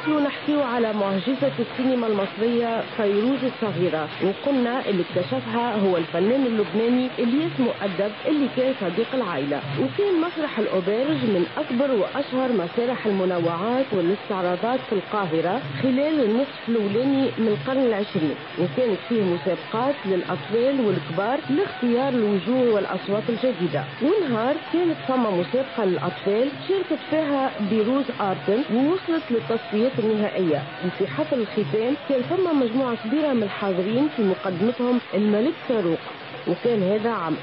نواصلوا نحكيو على معجزة السينما المصرية فيروز الصغيرة، وقلنا اللي اكتشفها هو الفنان اللبناني اللي اسمه أدب اللي كان صديق العائلة. وكان مسرح الأوبرج من أكبر وأشهر مسارح المنوعات والاستعراضات في القاهرة خلال النصف الأولاني من القرن العشرين، وكانت فيه مسابقات للأطفال والكبار لاختيار الوجوه والأصوات الجديدة. ونهار كانت ثم مسابقة للأطفال شاركت فيها بيروز آرتن ووصلت للتصفيات النهائية. وفي حفل الختام كان ثم مجموعة كبيرة من الحاضرين في مقدمتهم الملك فاروق، وكان هذا عام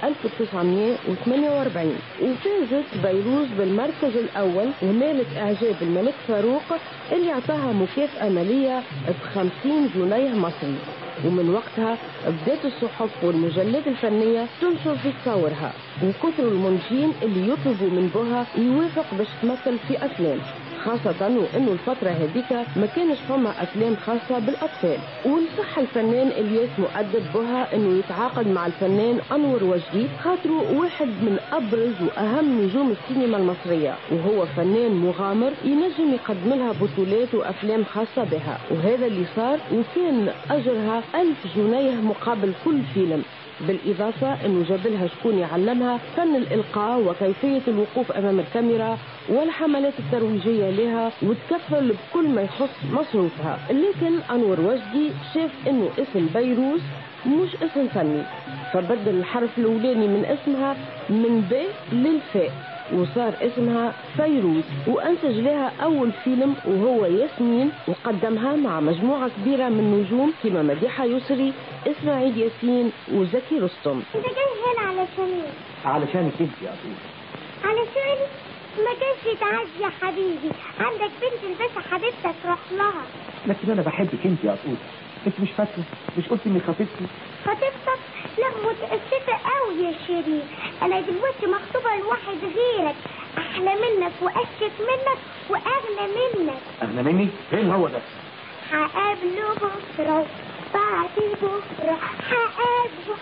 1948. وفازت بيروز بالمركز الأول ونالت إعجاب الملك فاروق اللي اعطاها مكافأة مالية ب50 جنيه مصري. ومن وقتها بدات الصحف والمجلات الفنية تنشر في تصاورها، وكثر المنتجين اللي يطلبوا من بوها يوافق باش تمثل في أفلام، خاصة وإنه الفترة هذيك ما كانش فما أفلام خاصة بالأطفال. ونصح الفنان الياس مؤدب بوها إنه يتعاقد مع الفنان أنور وجدي، خاطره واحد من أبرز وأهم نجوم السينما المصرية، وهو فنان مغامر ينجم يقدم لها بطولات وأفلام خاصة بها. وهذا اللي صار، وكان أجرها 1000 جنيه مقابل كل فيلم، بالإضافة أنه جابلها شكون يعلمها فن الإلقاء وكيفية الوقوف أمام الكاميرا والحملات الترويجية لها، وتكفل بكل ما يخص مصروفها. لكن أنور وجدي شاف أنه اسم بيروز مش اسم فني، فبدل الحرف الأولاني من اسمها من ب للفاء وصار اسمها فيروز، وأنتج لها أول فيلم وهو ياسمين، وقدمها مع مجموعة كبيرة من نجوم كما مديحة يسري، إسماعيل ياسين وزكي رستم. انت جاي هنا علشان ايه؟ علشانك انت يا أبوي. علشان ما كانش تعدي يا حبيبي، عندك بنت الباشا حبيبتك روح لها. لكن انا بحبك انت يا أبوي، انت مش فاكره؟ مش قلت اني خطيبتي؟ خطيبتك؟ لا متأسفة قوي يا شيرين، انا دلوقتي مخطوبة لواحد غيرك احلى منك واشك منك واغنى منك. اغنى مني؟ فين هو ده؟ هقابله بكرة بعد بكرة، هقابله.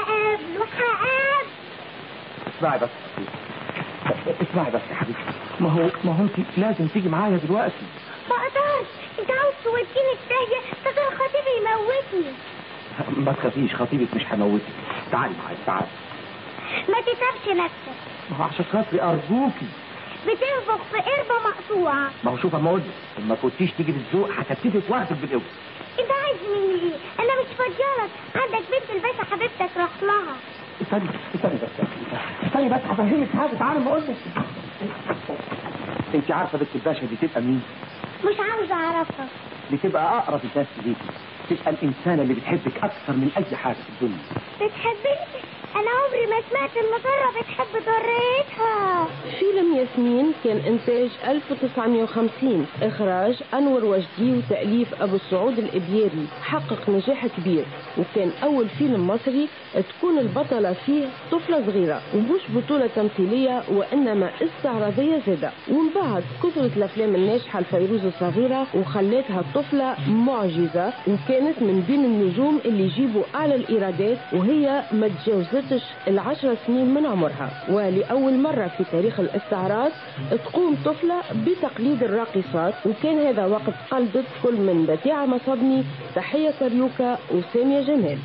اسمعي بس يا حبيبتي، ما هو انت لازم تيجي معايا دلوقتي. ما اقدرش، انت عاوز توديني في داهية، ده خطيبي يموتني. ما تخافيش، خطيبك مش هيموتك. تعالي معايا، تعالي. ما تتعبش نفسك. ما هو عشان خاطري ارجوكي. بتنفخ في قربة مقطوعة. ما هو شوف اما اقول لك، ما كنتيش تيجي بالذوق هتبتدي واخدك بالقوه. انت عايز مني ايه؟ انا مش فاضيالك، عندك بنت الباشا حبيبتك روح لها. استني بس هفهمك حاجه. تعالي ما اقول لك. انت عارفه بنت الباشا دي تبقى مين؟ مش عاوزه اعرفها. دي تبقى اقرب الناس ليكي، تبقى الانسانه اللي بتحبك اكثر من اي حاجه في الدنيا. بتحبني؟ انا عمري ما سمعت ان ضرة بتحب ضرتها. فيلم ياسمين كان انتاج 1950، اخراج انور وجدي وتأليف ابو السعود الابياري، حقق نجاح كبير، وكان اول فيلم مصري تكون البطلة فيه طفلة صغيرة، ومش بطولة تمثيلية وانما استعراضية زادة. ومن بعد كثرت الافلام الناجحة لفيروز الصغيرة وخلتها الطفلة معجزة، وكانت من بين النجوم اللي يجيبوا اعلى الايرادات وهي ما تجاوزتش 10 سنين من عمرها. ولأول مرة في تاريخ الاستعراض تقوم طفلة بتقليد الراقصات، وكان هذا وقت قلدت كل من بديعة مصبني، تحية كريوكا وسامية جمال.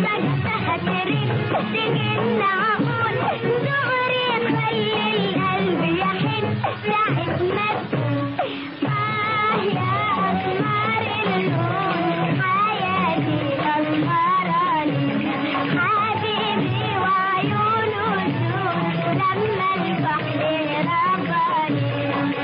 فجأة تريد تجن عقول دغري خلي القلب يحن ساعة ما يا أسمار اللون حياتي أسمراني حبيبي وعيونه سود لما البحر رباني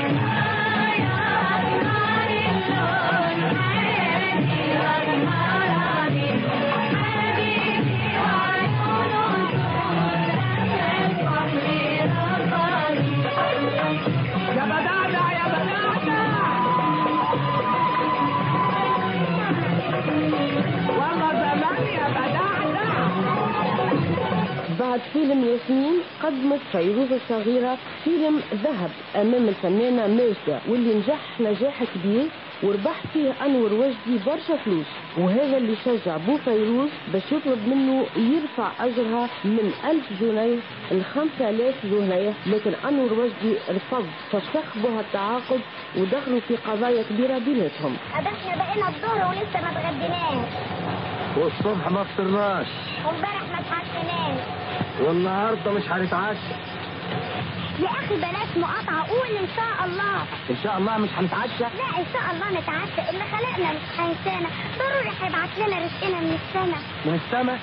بعد فيلم ياسمين قدمت فيروز الصغيرة فيلم ذهب أمام الفنانة ماجدة واللي نجح نجاح كبير وربح فيه أنور وجدي برشا فلوس، وهذا اللي شجع بو فيروز باش يطلب منه يرفع أجرها من 1000 جنيه ل 5000 جنيه، لكن أنور وجدي رفض فسخ بها التعاقد ودخلوا في قضايا كبيرة بيناتهم. احنا بقينا الظهر ولسه ما اتغديناش، والصبح ما فطرناش، وامبارح ما اتعشيناش، والنهارده مش هنتعشى. يا اخي بلاش مقاطعه، قول ان شاء الله. ان شاء الله مش هنتعشى؟ لا ان شاء الله نتعشى، اللي خلقنا مش هينسانا، ضروري هيبعت لنا رزقنا من السما. من السما؟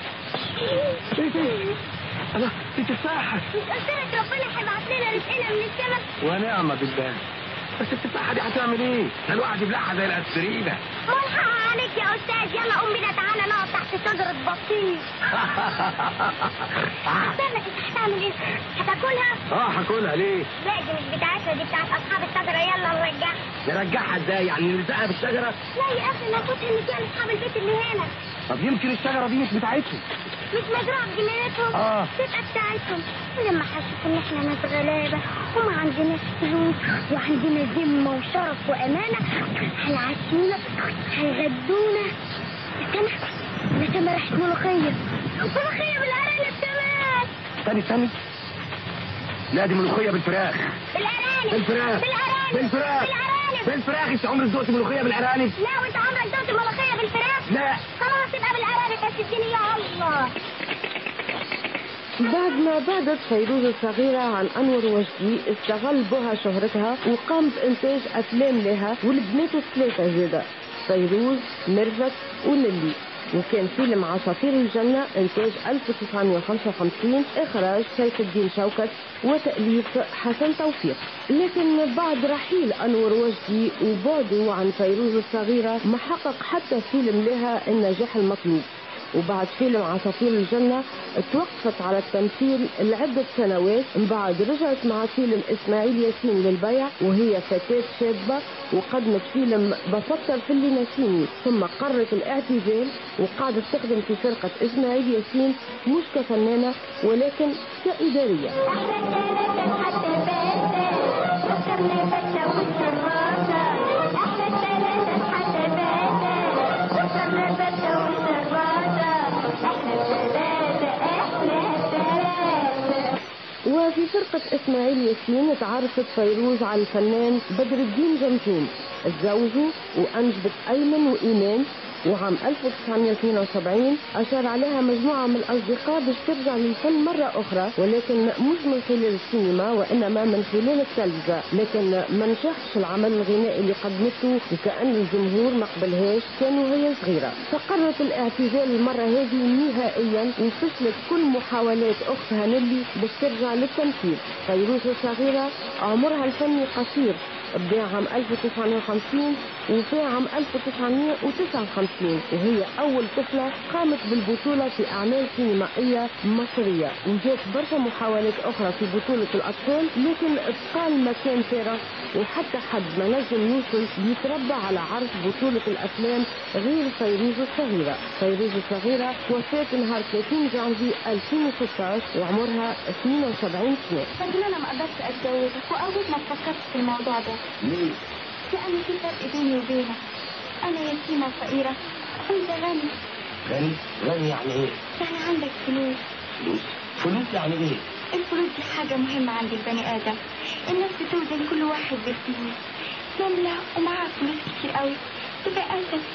الله دي تفاحه. مش قلت لك ربنا هيبعت لنا رزقنا من السما؟ ونعم بالله. بس التفاحه دي هتعمل ايه؟ ده الواحد يبلعها زي الاسبرينه. ملحق عليك يا استاذ، يلا قوم بينا تعالى نقعد تحت شجره بطيخ. استنى انت هتعمل ايه؟ هتاكلها؟ هاكلها ليه؟ لا دي مش بتاعتنا، دي بتاعت اصحاب الشجره، يلا نرجعها. نرجعها ازاي؟ يعني نلزقها بالشجره؟ لا يا اخي ناخدها اللي فيها لاصحاب البيت اللي هنا. طب يمكن الشجره دي مش بتاعتهم. مش مزروعه بجنينتهم؟ تبقى بتاعتهم. لما حسوا ان احنا ناس غلابه وما عندناش فلوس وعندنا ذمه وشرف وامانه، هيعشونا هيغدونا. استنى ريحه ملوخيه بالارانب كمان. استني لا دي ملوخيه بالفراخ. بالفراخ انت عمرك ذقت ملوخيه بالارانب؟ لا وانت عمرك ذقت ملوخيه بالفراخ؟ لا خلاص يبقى بالارانب، بس اديني يا الله. بعد ما بعدت فيروز الصغيرة عن أنور وجدي استغل بها شهرتها وقام بإنتاج أفلام لها والبنات الثلاثة زادة فيروز ميرفت ونيلي، وكان فيلم عصافير الجنة إنتاج 1955 إخراج سيف الدين شوكت وتأليف حسن توفيق. لكن بعد رحيل أنور وجدي وبعده عن فيروز الصغيرة ما حقق حتى فيلم لها النجاح المطلوب، وبعد فيلم عصافير الجنة توقفت على التمثيل لعدة سنوات، من بعد رجعت مع فيلم إسماعيل ياسين للبيع وهي فتاة شابة وقدمت فيلم بفكر في اللي نسيني، ثم قررت الاعتزال وقعدت تخدم في فرقة إسماعيل ياسين مش كفنانة ولكن كإدارية. وفي فرقة إسماعيل ياسين تعرفت فيروز على الفنان بدر الدين جمجوم، تزوجوا وأنجبت أيمن وإيمان، وعام 1972 أشار عليها مجموعة من الأصدقاء باش ترجع للفن مرة أخرى، ولكن مش من خلال السينما وإنما من خلال التلفزة، لكن ما نجحش العمل الغنائي اللي قدمته وكأن الجمهور ما قبلهاش كانوا هي صغيرة، فقررت الاعتزال المرة هذه نهائيا وفشلت كل محاولات أختها نيلي باش ترجع للتمثيل. فيروز الصغيرة عمرها الفني قصير، بدأ عام 1950 وفي عام 1959 وهي أول طفلة قامت بالبطولة في أعمال سينمائية مصرية، وجات برشا محاولات أخرى في بطولة الأطفال لكن اتقال مكان فارغ وحتى حد ما نجم يوصل يتربى على عرض بطولة الأفلام غير فيروز الصغيرة. فيروز الصغيرة وفات نهار 30 جانفي 2016 وعمرها 72 سنة. لكن أنا ما قدرتش أتجوزك وأول ما فكرت في الموضوع ده. ليه؟ لأن في فرق بيني وبينك، أنا يتيمة فقيرة وأنت غني. غني يعني إيه؟ يعني عندك فلوس. فلوس يعني إيه؟ الفلوس دي حاجة مهمة عند البني آدم، الناس بتوزن كل واحد بالفلوس، نملة ومعاها فلوس كتير قوي تبقى أسد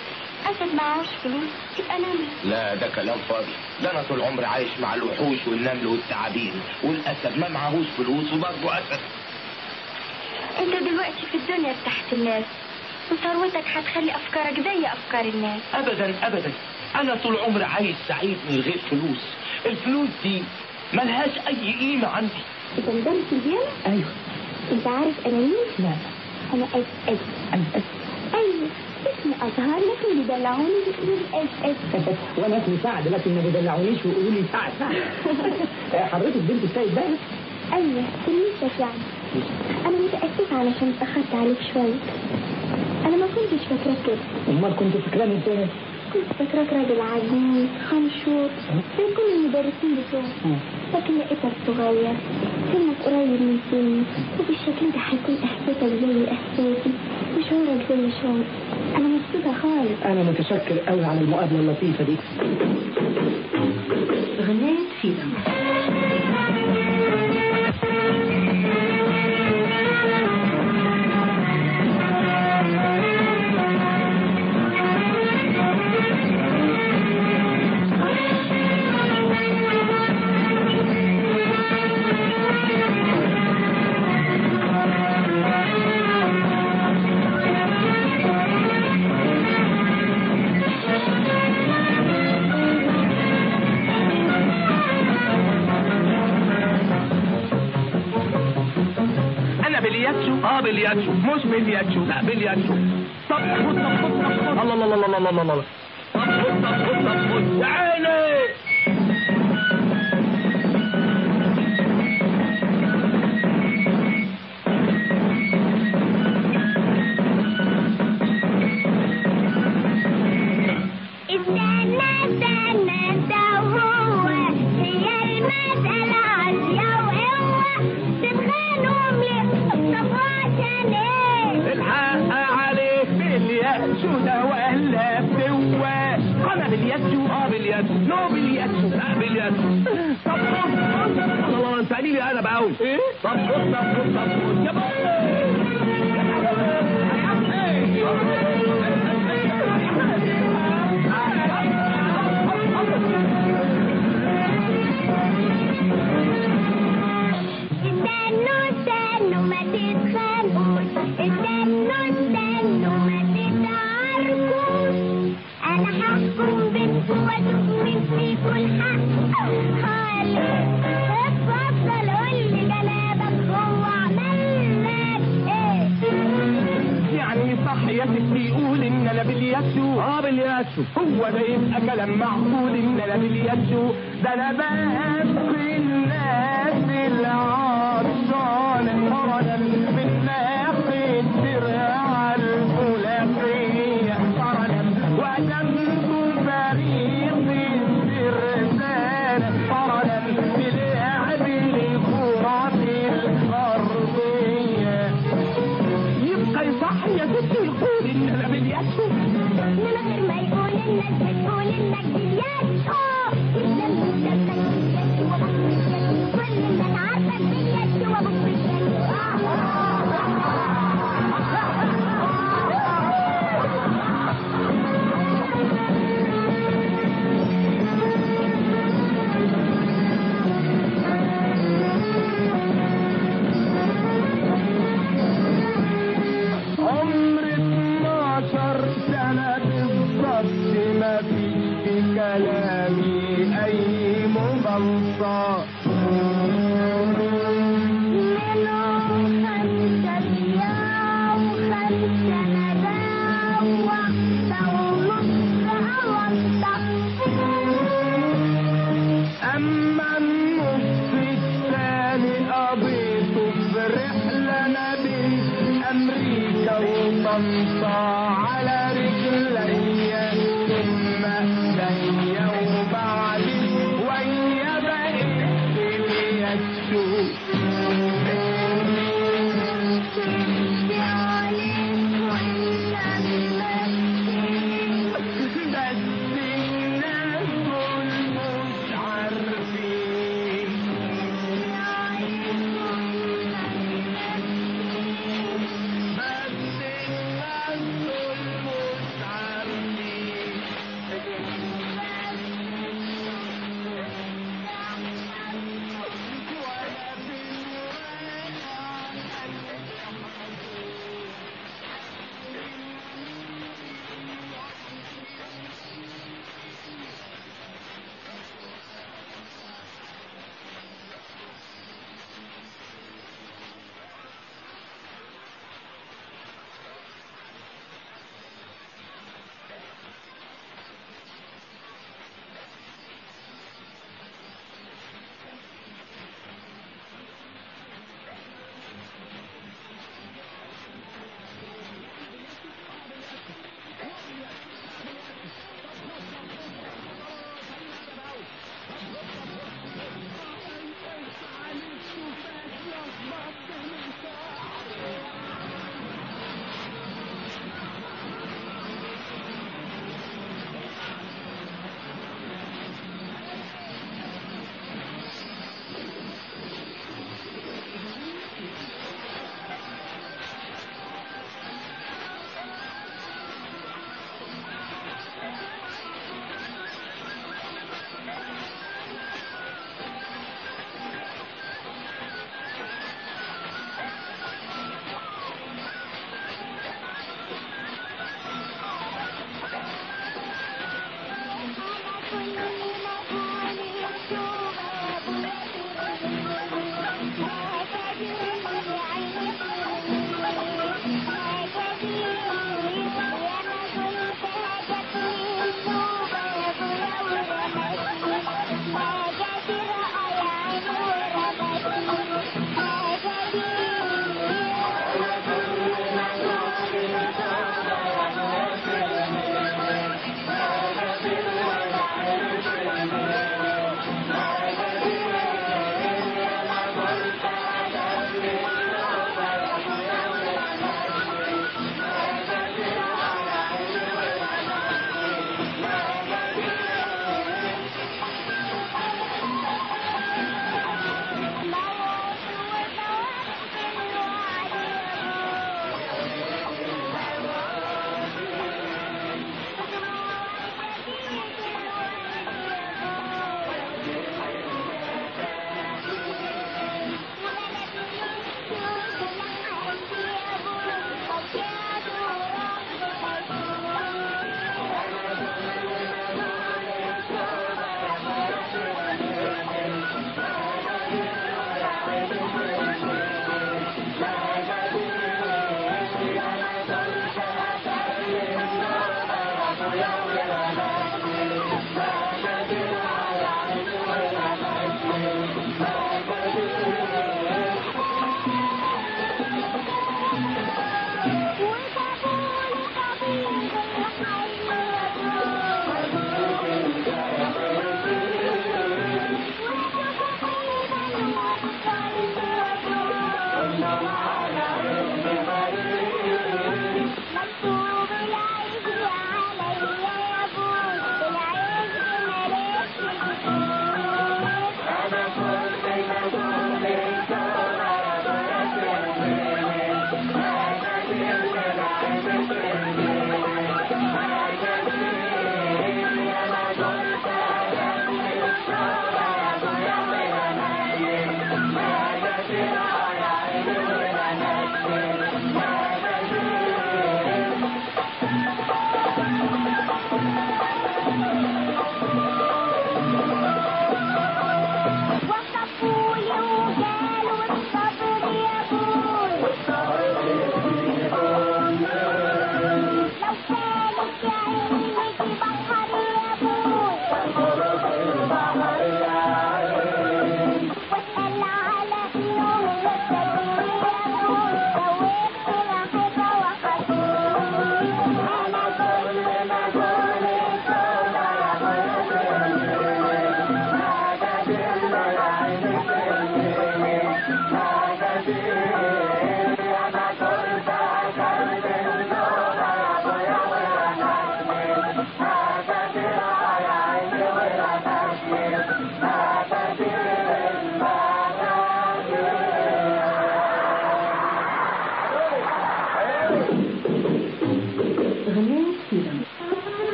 اسد معهوش فلوس يبقى نمل. لا ده كلام فاضي، ده انا طول عمري عايش مع الوحوش والنمل والتعابين، والاسد ما معهوش فلوس وبرضه اسد. انت دلوقتي في الدنيا تحت الناس، وثروتك هتخلي افكارك زي افكار الناس. ابدا ابدا، انا طول عمري عايش سعيد من غير فلوس. الفلوس دي ملهاش اي قيمه عندي. انت مدرس البيانو؟ ايوه. انت عارف انا مين؟ لا. انا اس. ايوه اسمي ازهر، لكن بيدلعوني بيقولوا اس. وانا اسمي سعد، لكن ما بيدلعونيش ويقولوا لي سعد. حضرتك بنت السيد بقى؟ ايوه تلميذتك يعني. انا متاسفه علشان اتاخرت عليك شويه. انا ما كنتش فاكراك كده. امال كنت فاكراني ازاي؟ كنت فاكراك راجل عجوز خنشور زي كل المدرسين بتوعك، لكن لقيتك صغير، سنك قريب من سني، وبالشكل ده هيكون احساسك زي احساسي وشعورك زي شعوري. انا مبسوطه خالص. انا متشكر قوي على المقابله اللطيفه دي. غناية فيلم. بلياتشو مش بلياتشو، لا بلياتشو. طب خد الله الله الله الله الله الله. طب خد يا عيني. هو ده يبقى كلام معقول ان انا بلياتشو؟ ده انا بسقي الناس العطشان قرنا من ناحية درع الفلاحية قرنا وجنبه فريق الترسان قرنا بلعب الكرة الأرضية. يبقى يصح يا ستي يقول ان انا بلياتشو من غير ما يقول انك بتقول انك بلياتشو. كل اللي انا عارفه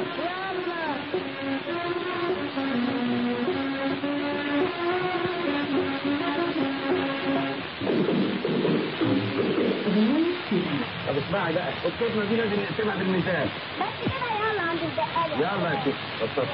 طب اسمعي بقى، الكلمة دي لازم نقسمها بالمثال. بس كده يلا عند البقالة. يلا يا ستي اتفضل.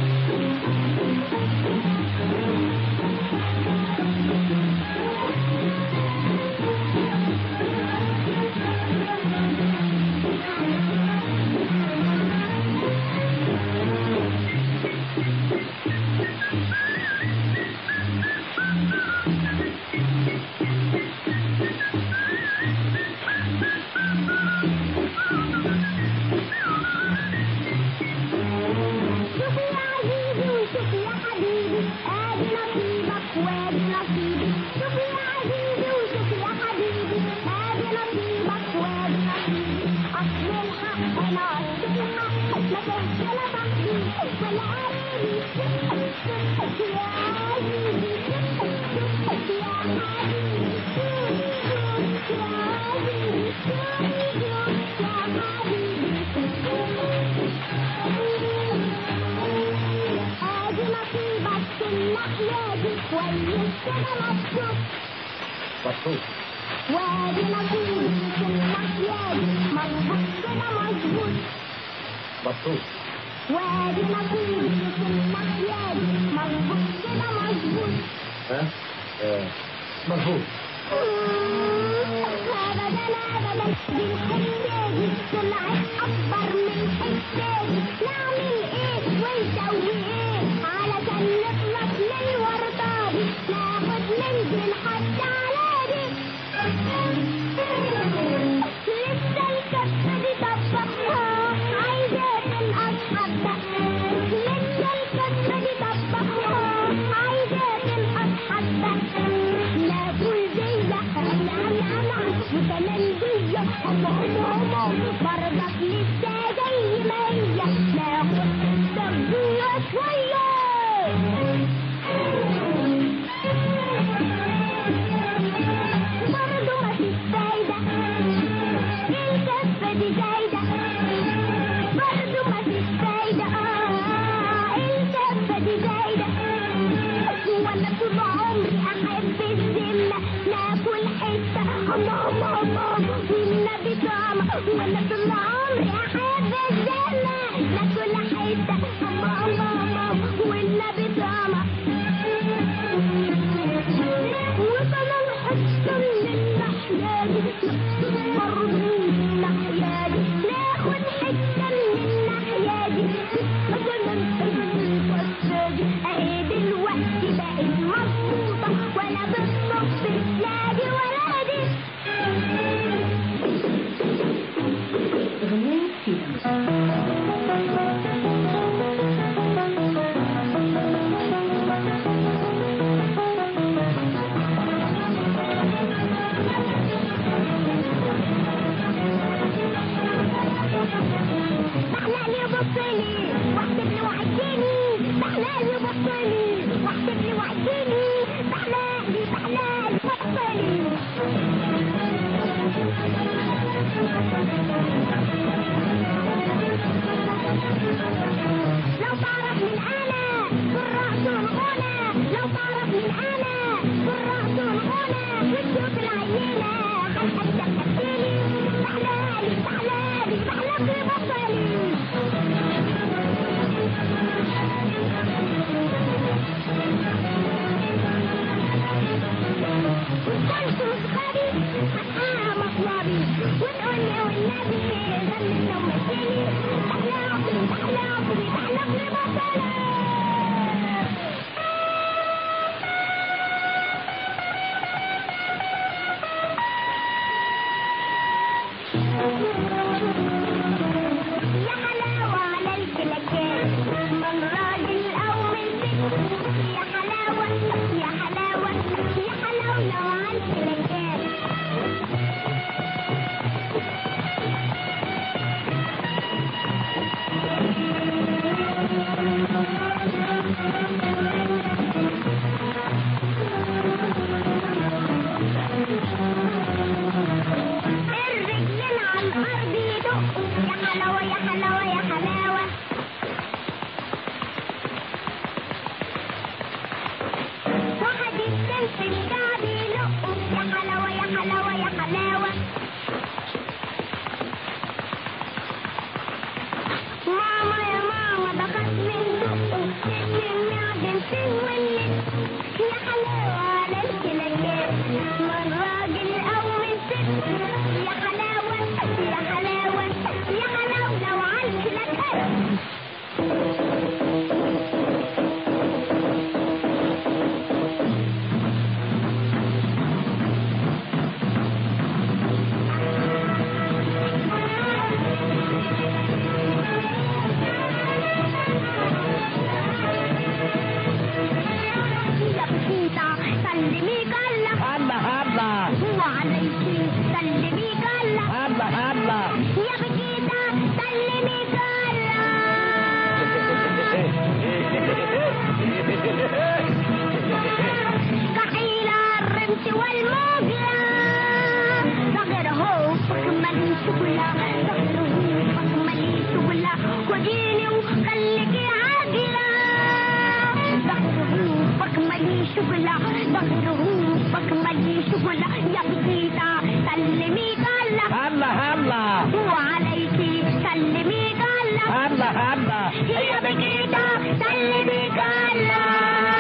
مبسوط. وادي نصيبي في المحيادي مظبوط كده مظبوط. مبسوط. وادي نصيبي في المحيادي مظبوط كده مظبوط. ها؟ مظبوط. ابدا ابدا دي الحكايه طلعت اكبر من حكايه. نعمل ايه ونسوي ايه علشان نخلص من الورطه دي؟ ناخد منزل حتى علادي. لسه الكفه دي طبقها عايزه تنقص حبه. لسه الكفه دي طبقها عايزه تنقص حبه. ناكل زيها وكمان دية برضك لسه زي ما هي. ناخد تغذية شوية برضه مفيش فايدة. الكفة دي زايدة برضه مفيش فايدة. الكفة دي زايدة. وانا طول عمري احب الذمة ناكل حتة الله والنبي طعمة. وانا طول عمري احب الذمة ناكل حتة الله والنبي طعمة. وكمان حتة من الناحية دي برضه من الناحية دي. ناخد حتة من الناحية دي وكمان الفتة دي. اهي دلوقتي بقت مظبوطة ولا بالصف نادي ولادي. بحلالي وبطلي واحسب لي وعديني. بحلالي وبطلي واحسب لي وعديني. بحلالي وبطلي. لو تعرف من انا بالرأس والغنى. لو تعرف من انا بالرأس والغنى وتشوف العينة حتى تحكيلي. بحلالي بحلالي بطلي. كنت صغاري حقها مطلبي وتقولي والنبي غني ومثلي. بحلى عمري بطلي. يا حلاوة على الكلاكات من راجل أو من ست. يا حلاوة يا حلاوة يا حلاوة على الكلاكات. الرجلين على الأرض يدقوا الله ظهره بكمل شغلة يا بسيطة سلمي الله هلا هلا وعليكي سلمي الله هلا هلا يا بسيطة سلمي الله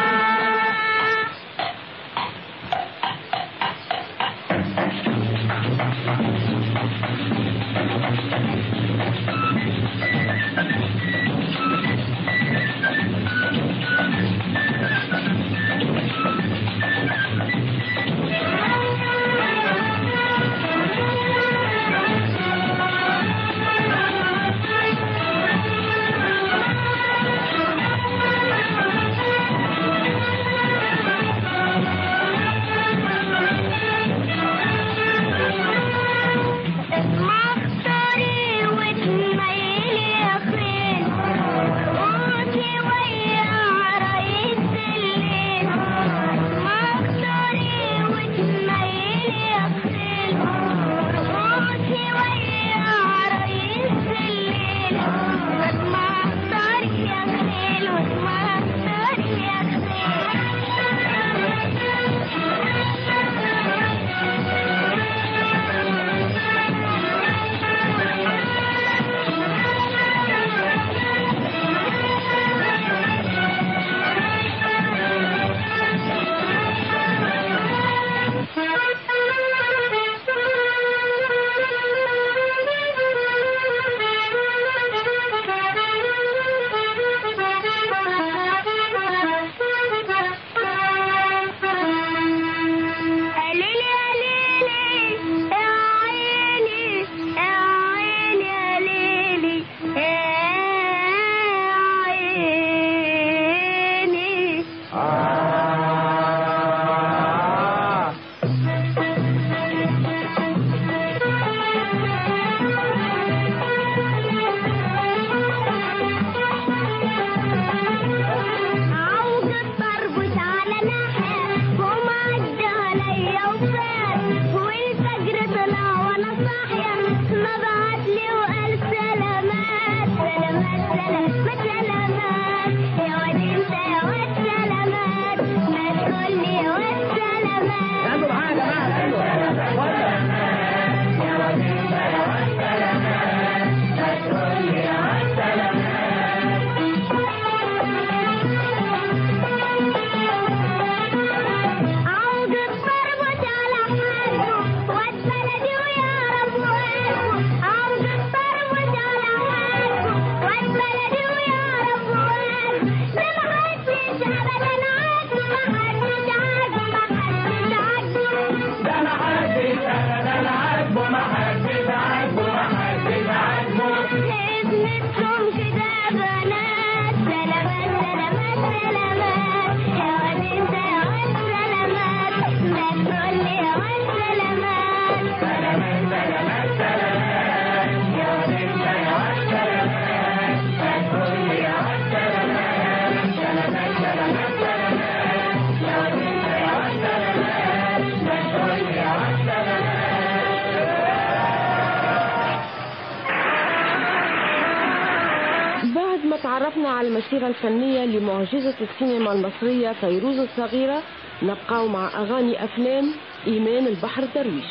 تعرفنا على المسيرة الفنية لمعجزة السينما المصرية فيروز الصغيرة. نبقى مع أغاني أفلام إيمان البحر درويش.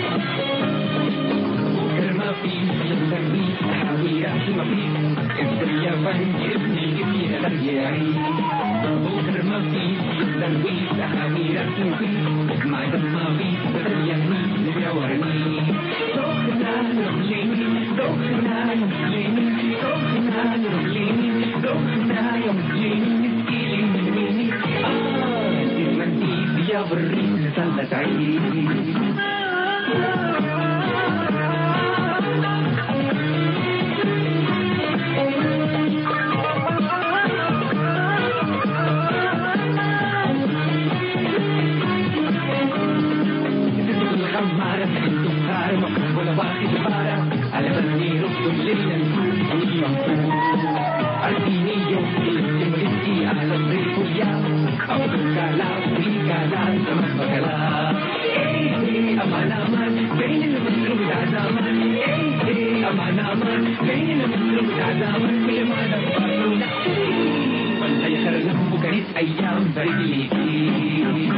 It's يا فندي ابن الجبين الرجاعي بكر ما فيش درويش أحاويرك مفيش مع دماغي برياني ويورني دخنا رجليني دخنا رجليني دخنا رجليني دخنا رجليني مسكيني المنديل يا بريد سلت عيني ولا واحد بارا على بني رب الليل أرسيني يومي تمرتي على الطريق اليوم أبوك لا أبوك لا سمك لا أمان أمان بين المسلوب العزامان أمان أمان بين المسلوب العزامان كل ما نفعلنا ولا يخرجهم بكريت أيام بريدي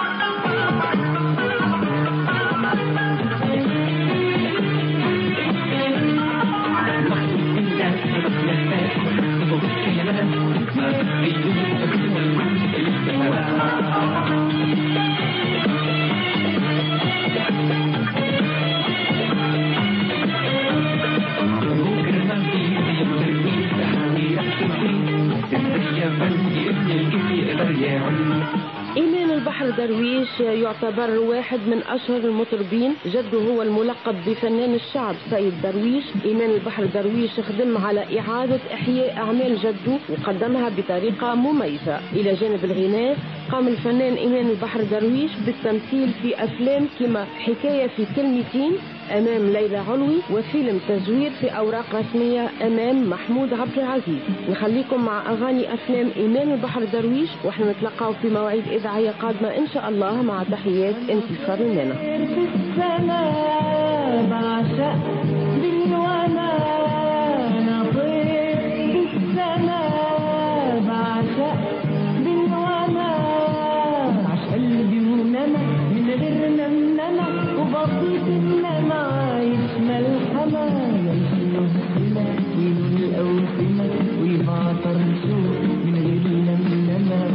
إيمان البحر درويش يعتبر واحد من أشهر المطربين. جده هو الملقب بفنان الشعب سيد درويش. إيمان البحر درويش خدم على إعادة إحياء أعمال جده وقدمها بطريقة مميزة. إلى جانب الغناء قام الفنان إيمان البحر درويش بالتمثيل في أفلام كما حكاية في كلمتين أمام ليلى علوي وفيلم تزوير في أوراق رسمية أمام محمود عبد العزيز. نخليكم مع أغاني أفلام إيمان البحر درويش وإحنا نتلقاو في مواعيد إذاعية قادمة إن شاء الله مع تحيات انتصار المنى. بعشق بالوانا نطير بالسماء بعشق بالوانا عش قلبي ونما من غير نمنمة وبسيط إنما عايش ملحمة يمشي السما وينون الأوسمة ويبعطر نشوف من غير نمنمة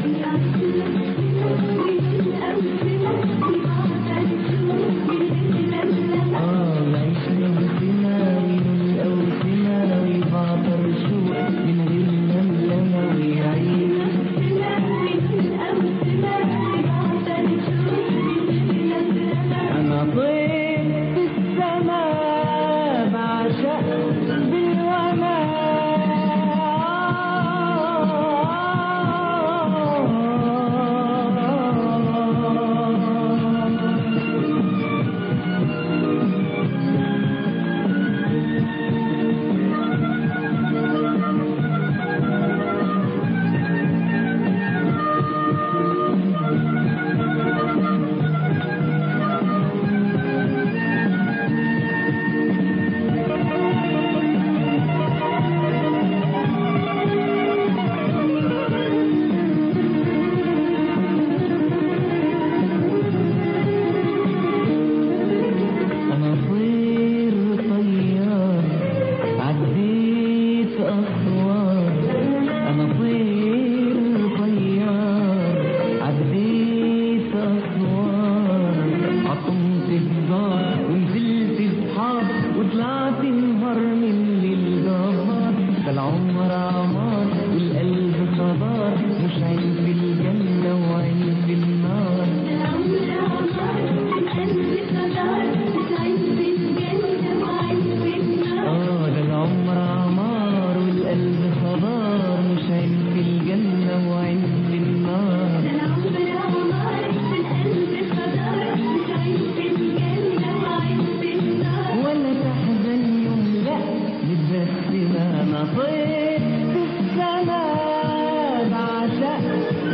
طير في السماء بعشق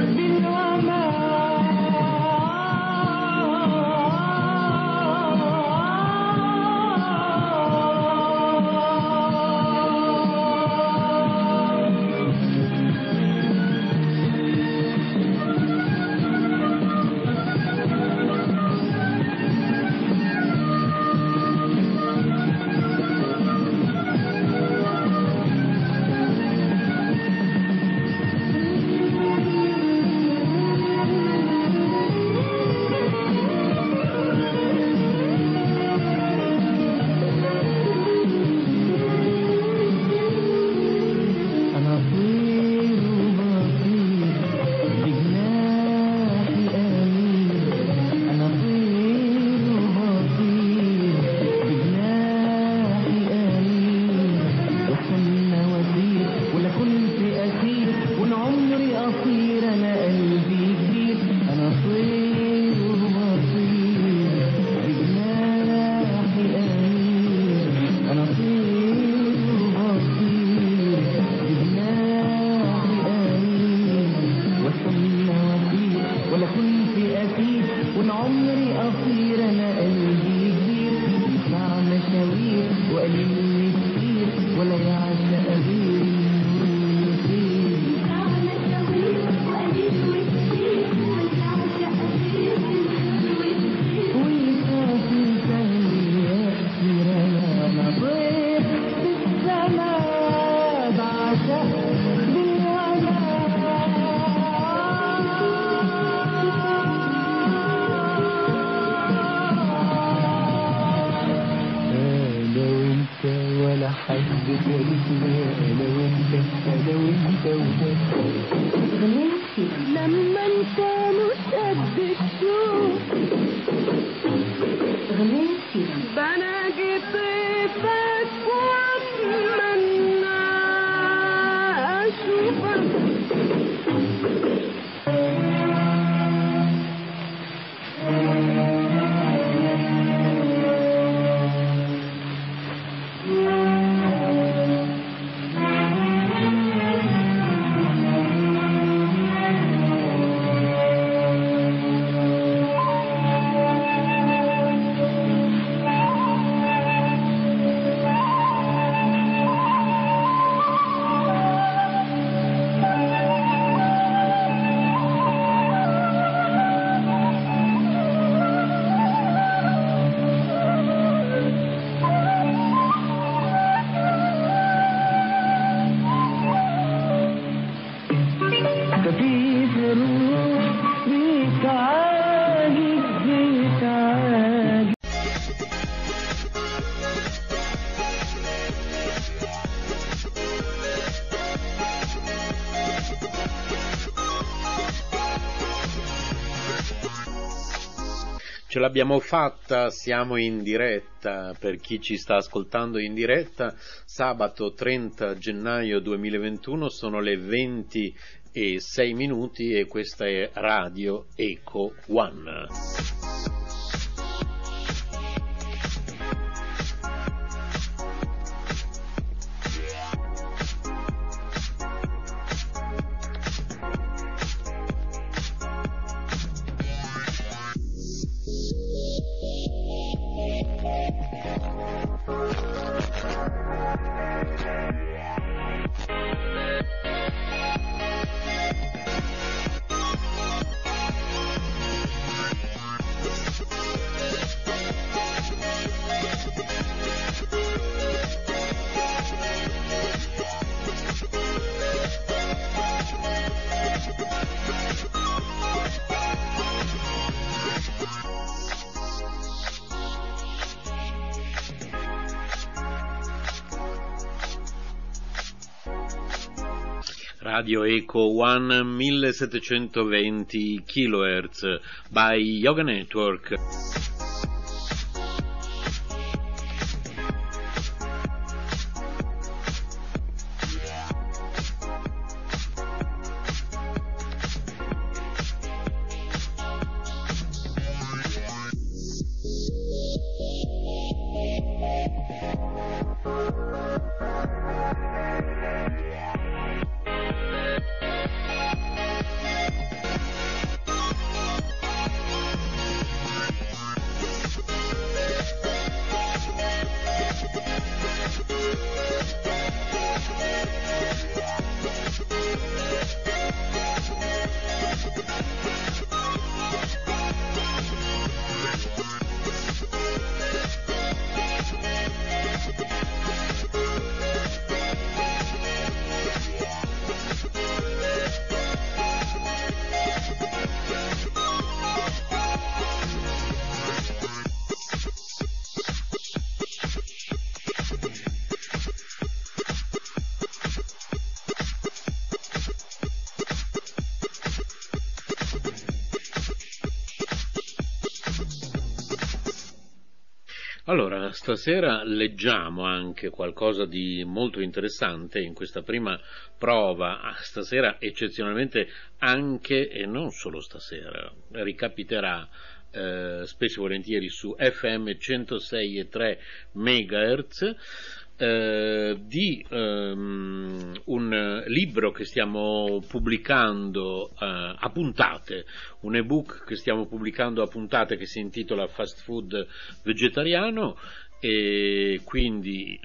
Ce l'abbiamo fatta, siamo in diretta, per chi ci sta ascoltando in diretta, sabato 30 gennaio 2021, sono le 20:06 e questa è Radio Eco One. Radio Eco One 1720 kHz by Yoga Network. Allora, stasera leggiamo anche qualcosa di molto interessante in questa prima prova, stasera eccezionalmente anche, e non solo stasera, ricapiterà spesso e volentieri su FM 106,3 MHz, di un libro che stiamo pubblicando a puntate, un ebook che stiamo pubblicando a puntate che si intitola Fast Food Vegetariano, e quindi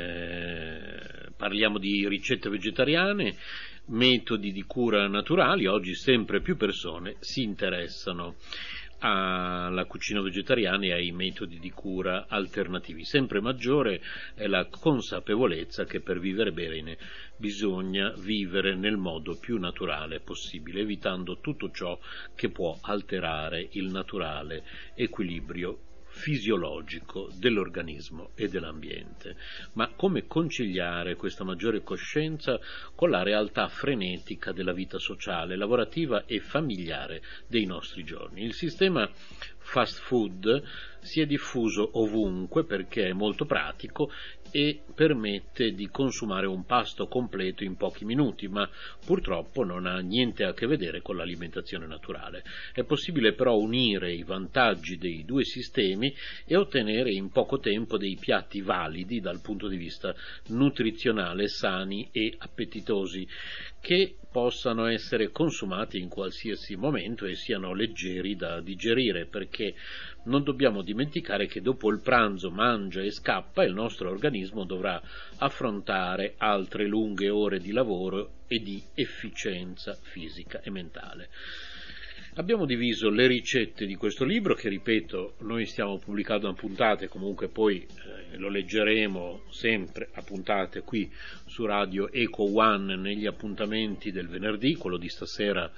parliamo di ricette vegetariane, metodi di cura naturali. Oggi sempre più persone si interessano alla cucina vegetariana e ai metodi di cura alternativi. Sempre maggiore è la consapevolezza che per vivere bene bisogna vivere nel modo più naturale possibile, evitando tutto ciò che può alterare il naturale equilibrio fisiologico dell'organismo e dell'ambiente. Ma come conciliare questa maggiore coscienza con la realtà frenetica della vita sociale, lavorativa e familiare dei nostri giorni? Il sistema fast food si è diffuso ovunque perché è molto pratico e permette di consumare un pasto completo in pochi minuti, ma purtroppo non ha niente a che vedere con l'alimentazione naturale. È possibile però unire i vantaggi dei due sistemi e ottenere in poco tempo dei piatti validi dal punto di vista nutrizionale, sani e appetitosi, che possano essere consumati in qualsiasi momento e siano leggeri da digerire, perché non dobbiamo dimenticare che dopo il pranzo mangia e scappa, il nostro organismo dovrà affrontare altre lunghe ore di lavoro e di efficienza fisica e mentale. Abbiamo diviso le ricette di questo libro, che ripeto noi stiamo pubblicando a puntate, comunque poi lo leggeremo sempre a puntate qui su Radio Eco One negli appuntamenti del venerdì. Quello di stasera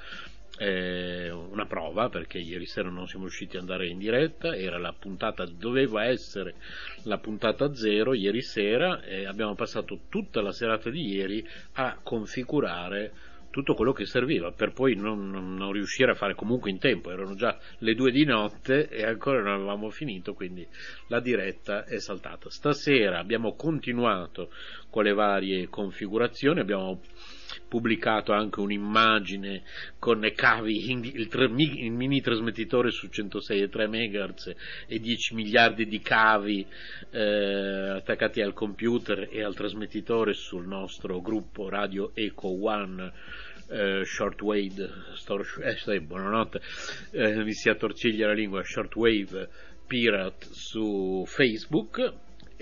è una prova, perché ieri sera non siamo riusciti ad andare in diretta, era la puntata, doveva essere la puntata 0 ieri sera, e abbiamo passato tutta la serata di ieri a configurare tutto quello che serviva per poi non riuscire a fare comunque in tempo. Erano già le 2 di notte e ancora non avevamo finito, quindi la diretta è saltata. Stasera abbiamo continuato con le varie configurazioni, abbiamo pubblicato anche un'immagine con cavi, il mini trasmettitore su 106,3 MHz e 10 miliardi di cavi attaccati al computer e al trasmettitore sul nostro gruppo Radio Eco One Shortwave, buonanotte, mi si attorciglia la lingua, Shortwave Pirate su Facebook.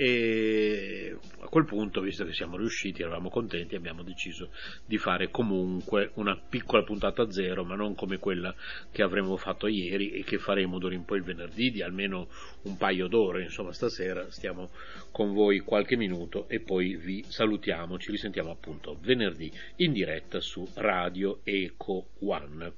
E a quel punto, visto che siamo riusciti, eravamo contenti, abbiamo deciso di fare comunque una piccola puntata zero, ma non come quella che avremmo fatto ieri e che faremo d'ora in poi il venerdì di almeno un paio d'ore. Insomma, stasera stiamo con voi qualche minuto e poi vi salutiamo, ci risentiamo appunto venerdì in diretta su Radio Eco One.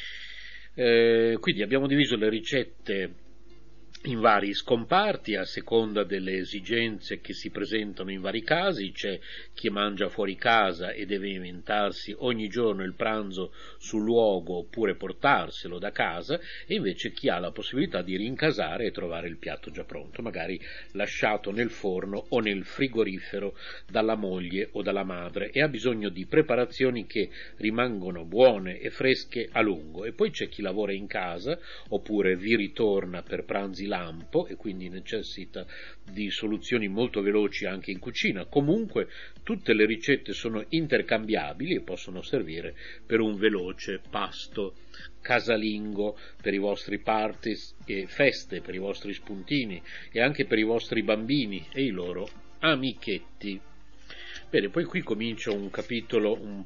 Quindi abbiamo diviso le ricette in vari scomparti a seconda delle esigenze che si presentano in vari casi. C'è chi mangia fuori casa e deve inventarsi ogni giorno il pranzo sul luogo oppure portarselo da casa, e invece chi ha la possibilità di rincasare e trovare il piatto già pronto, magari lasciato nel forno o nel frigorifero dalla moglie o dalla madre, e ha bisogno di preparazioni che rimangono buone e fresche a lungo. E poi c'è chi lavora in casa oppure vi ritorna per pranzi lampo e quindi necessita di soluzioni molto veloci anche in cucina. Comunque tutte le ricette sono intercambiabili e possono servire per un veloce pasto casalingo, per i vostri parties e feste, per i vostri spuntini e anche per i vostri bambini e i loro amichetti. Bene, poi qui comincia un capitolo,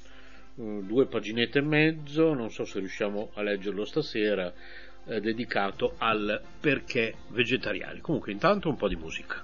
2 paginette e mezzo, non so se riusciamo a leggerlo stasera, dedicato al perché vegetariani. Comunque intanto un po' di musica.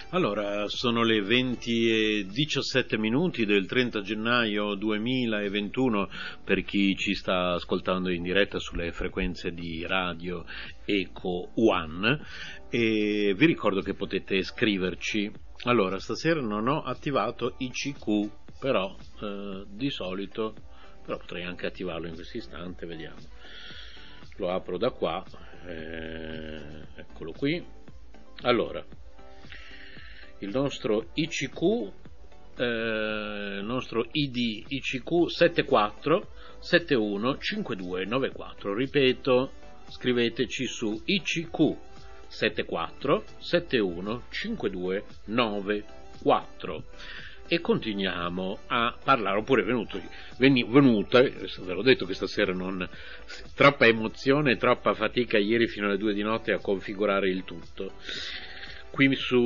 Allora, sono le 20:17 del 30 gennaio 2021 per chi ci sta ascoltando in diretta sulle frequenze di radio Eco One, e vi ricordo che potete scriverci. Allora, stasera non ho attivato ICQ, però di solito, però potrei anche attivarlo in questo istante, vediamo. Lo apro da qua, eccolo qui. Allora, il nostro ICQ, il nostro ID ICQ 74715294. Ripeto, scriveteci su ICQ 74715294 e continuiamo a parlare. Oppure venuta, ve l'ho detto che stasera non troppa emozione, troppa fatica ieri fino alle 2 di notte a configurare il tutto. Qui su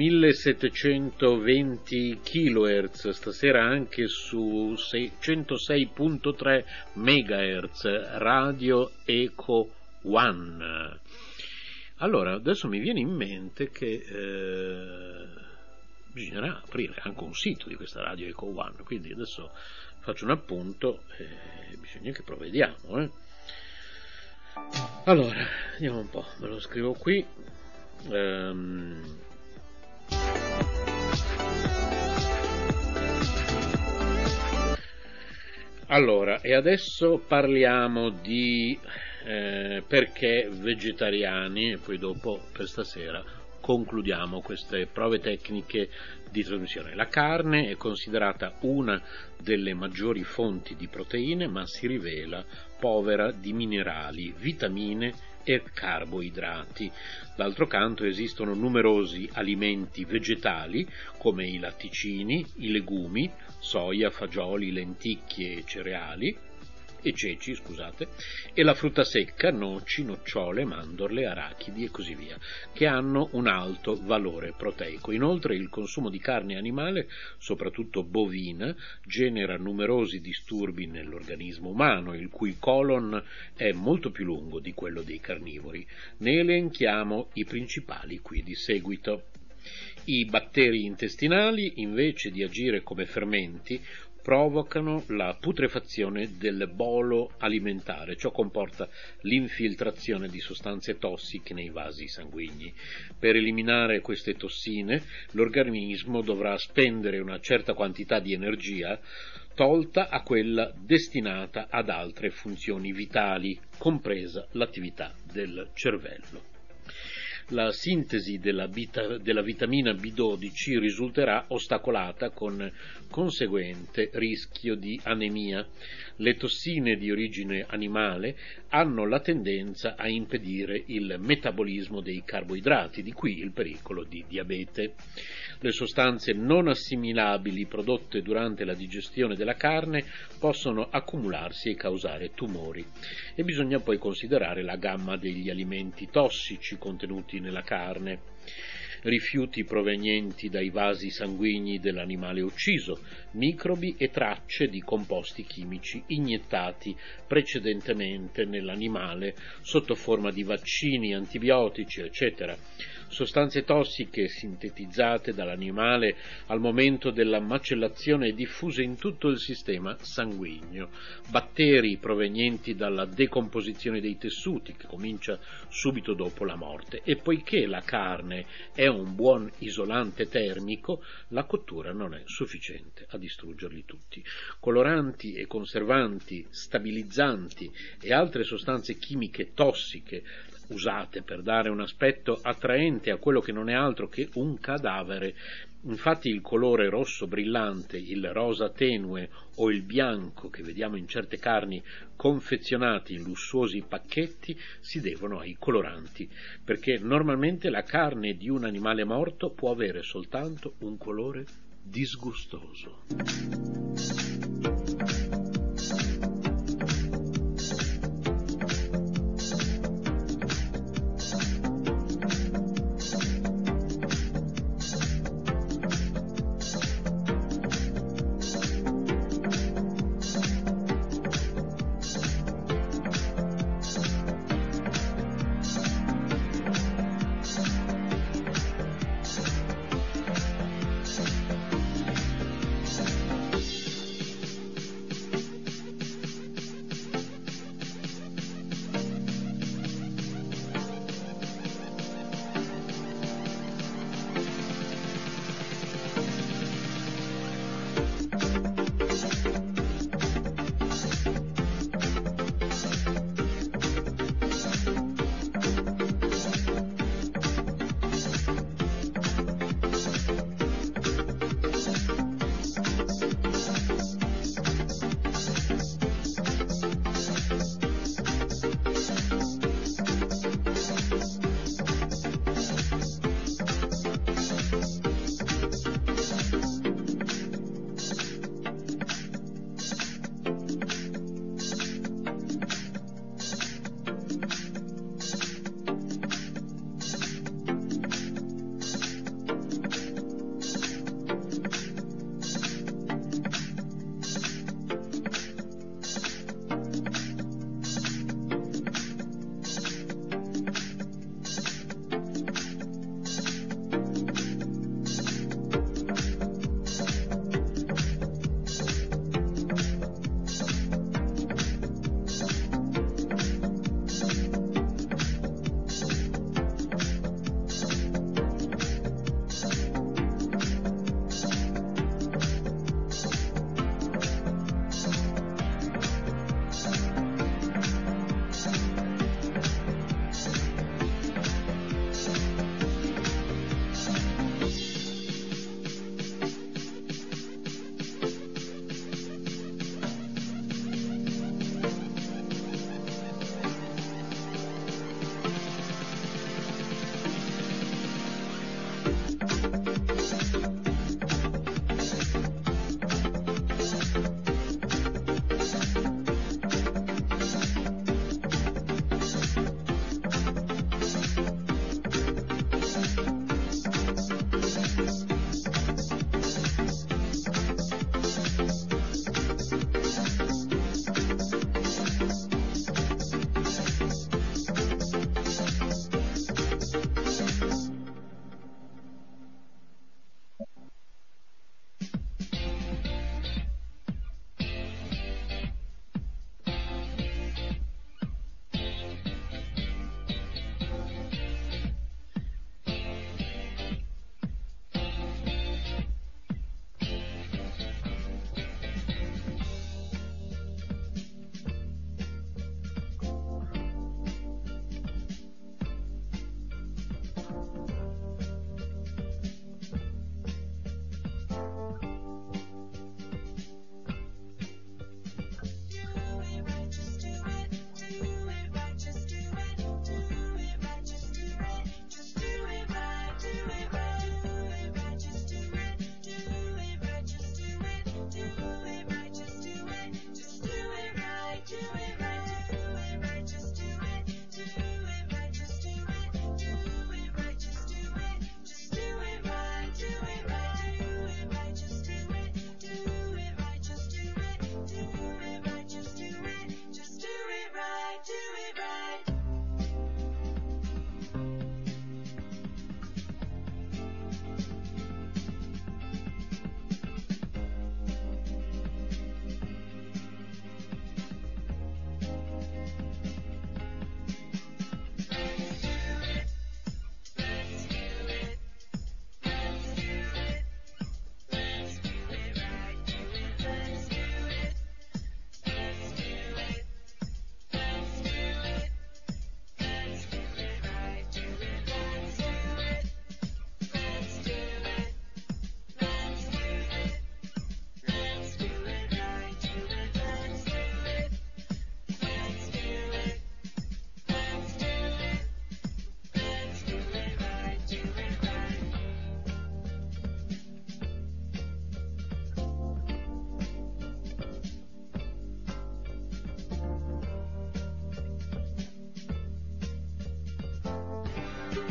1720 kHz, stasera anche su 106.3 MHz, Radio Eco One. Allora, adesso mi viene in mente che bisognerà aprire anche un sito di questa Radio Eco One, quindi adesso faccio un appunto e bisogna che provvediamo. Allora, vediamo un po', me lo scrivo qui. Allora, e adesso parliamo di perché vegetariani, e poi dopo per stasera concludiamo queste prove tecniche di trasmissione. La carne è considerata una delle maggiori fonti di proteine, ma si rivela povera di minerali, vitamine e carboidrati. D'altro canto esistono numerosi alimenti vegetali come i latticini, i legumi, soia, fagioli, lenticchie e ceci, e la frutta secca, noci, nocciole, mandorle, arachidi e così via, che hanno un alto valore proteico. Inoltre il consumo di carne animale, soprattutto bovina, genera numerosi disturbi nell'organismo umano, il cui colon è molto più lungo di quello dei carnivori. Ne elenchiamo i principali qui di seguito. I batteri intestinali, invece di agire come fermenti, provocano la putrefazione del bolo alimentare. Ciò comporta l'infiltrazione di sostanze tossiche nei vasi sanguigni. Per eliminare queste tossine, l'organismo dovrà spendere una certa quantità di energia tolta a quella destinata ad altre funzioni vitali, compresa l'attività del cervello. La sintesi della vitamina B12 risulterà ostacolata con conseguente rischio di anemia. Le tossine di origine animale hanno la tendenza a impedire il metabolismo dei carboidrati, di qui il pericolo di diabete. Le sostanze non assimilabili prodotte durante la digestione della carne possono accumularsi e causare tumori. E bisogna poi considerare la gamma degli alimenti tossici contenuti nella carne. Rifiuti provenienti dai vasi sanguigni dell'animale ucciso, microbi e tracce di composti chimici iniettati precedentemente nell'animale sotto forma di vaccini, antibiotici, eccetera. Sostanze tossiche sintetizzate dall'animale al momento della macellazione e diffuse in tutto il sistema sanguigno, batteri provenienti dalla decomposizione dei tessuti che comincia subito dopo la morte, e poiché la carne è un buon isolante termico, la cottura non è sufficiente a distruggerli tutti. Coloranti e conservanti, stabilizzanti e altre sostanze chimiche tossiche usate per dare un aspetto attraente a quello che non è altro che un cadavere. Infatti il colore rosso brillante, il rosa tenue o il bianco che vediamo in certe carni confezionate in lussuosi pacchetti si devono ai coloranti, perché normalmente la carne di un animale morto può avere soltanto un colore disgustoso.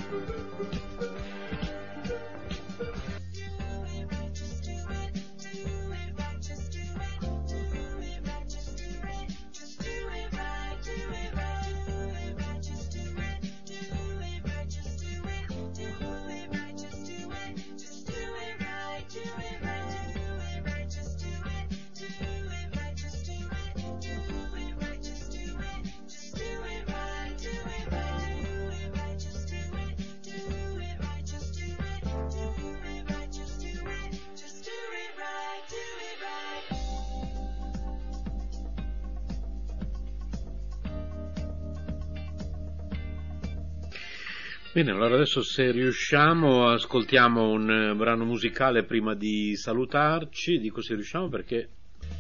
Bene, allora adesso se riusciamo ascoltiamo un brano musicale prima di salutarci. Dico se riusciamo perché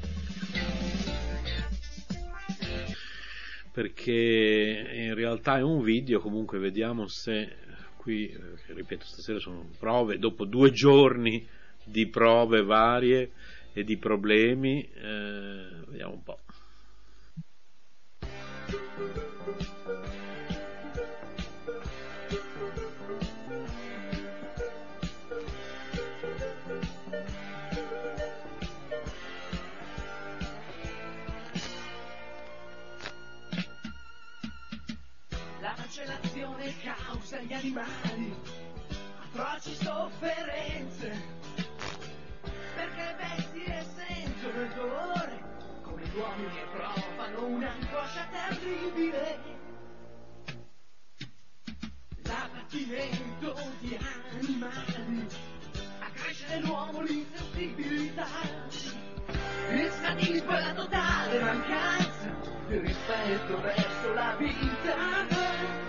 in realtà è un video. Comunque vediamo se qui, ripeto, stasera sono prove, dopo 2 giorni di prove varie e di problemi, vediamo un po'. La cancellazione causa agli animali atroci sofferenze, perché le bestie sentono il dolore come gli uomini e provano un'angoscia terribile. L'abbattimento di animali accresce nell'uomo l'insensibilità, il sadismo e la totale mancanza di rispetto verso la vita.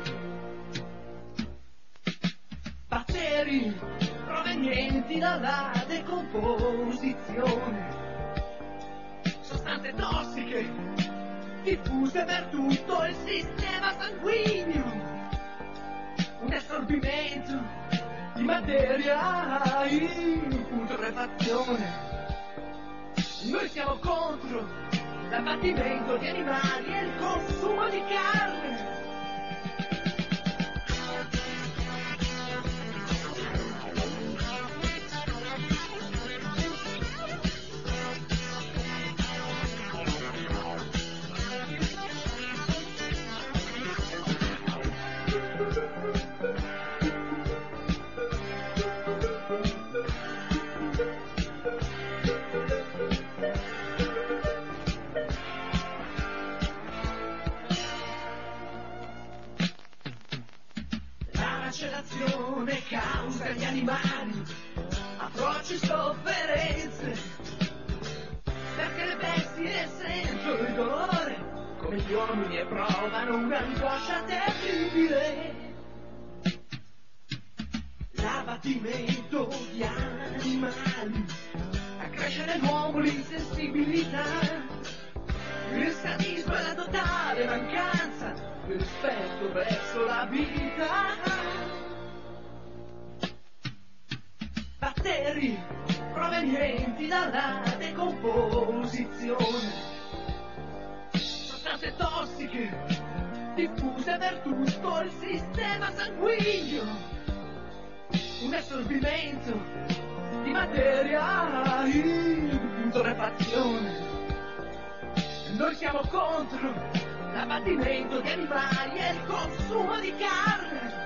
Batteri provenienti dalla decomposizione, sostanze tossiche diffuse per tutto il sistema sanguigno, un assorbimento di materia in putrefazione. Noi siamo contro l'abbattimento di animali e il consumo di carne. L'azione causa agli animali atroci sofferenze, perché le bestie sentono il dolore come gli uomini e provano un'angoscia terribile. L'abbattimento di animali accresce nell'uomo l'insensibilità, il sadismo e la totale mancanza di rispetto verso la vita. Batteri provenienti dalla decomposizione, sostanze tossiche diffuse per tutto il sistema sanguigno, un assorbimento di materia in putrefazione. Noi siamo contro l'abbattimento di animali e il consumo di carne.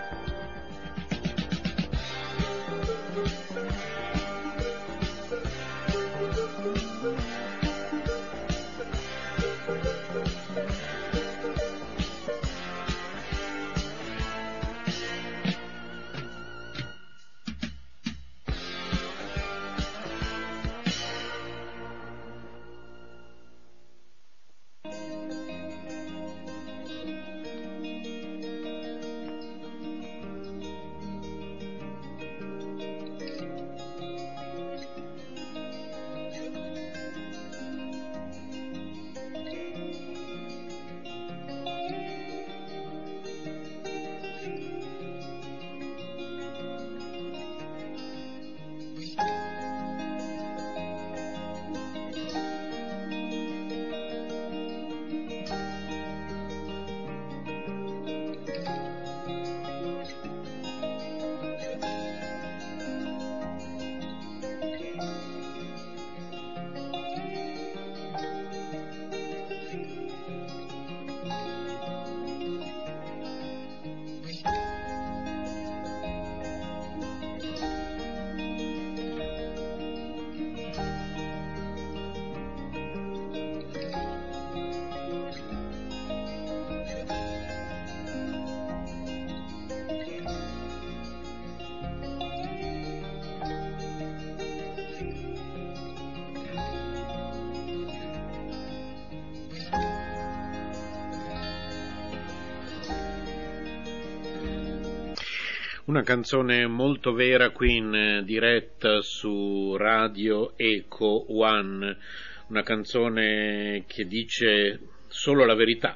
Una canzone molto vera qui in diretta su Radio Eco One, una canzone che dice solo la verità,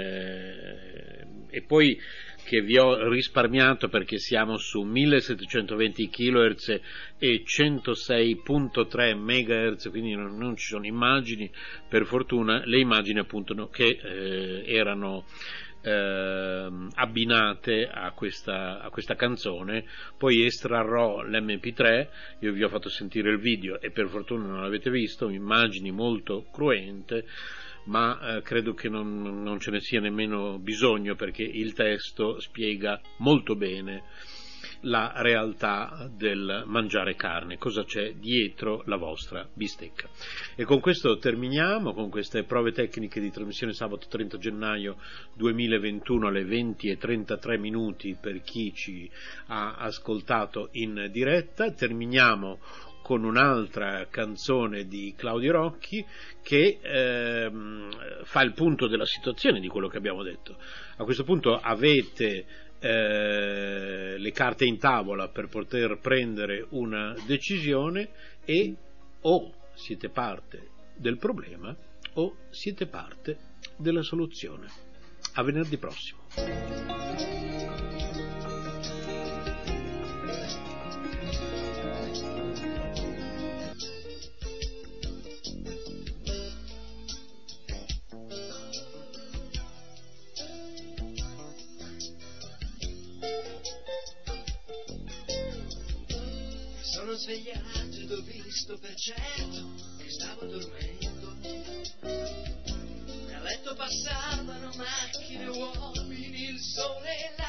e poi che vi ho risparmiato perché siamo su 1720 kHz e 106.3 MHz, quindi non ci sono immagini, per fortuna, le immagini appunto che erano abbinate a questa canzone. Poi estrarrò l'MP3, io vi ho fatto sentire il video e per fortuna non l'avete visto, immagini molto cruente, ma credo che non ce ne sia nemmeno bisogno, perché il testo spiega molto bene la realtà del mangiare carne, cosa c'è dietro la vostra bistecca. E con questo terminiamo, con queste prove tecniche di trasmissione sabato 30 gennaio 2021 alle 20:33 per chi ci ha ascoltato in diretta. Terminiamo con un'altra canzone di Claudio Rocchi che fa il punto della situazione di quello che abbiamo detto. A questo punto avete le carte in tavola per poter prendere una decisione e o siete parte del problema o siete parte della soluzione. A venerdì prossimo. Sono svegliato ed ho visto per certo che stavo dormendo. A letto passavano macchine, uomini, il sole e la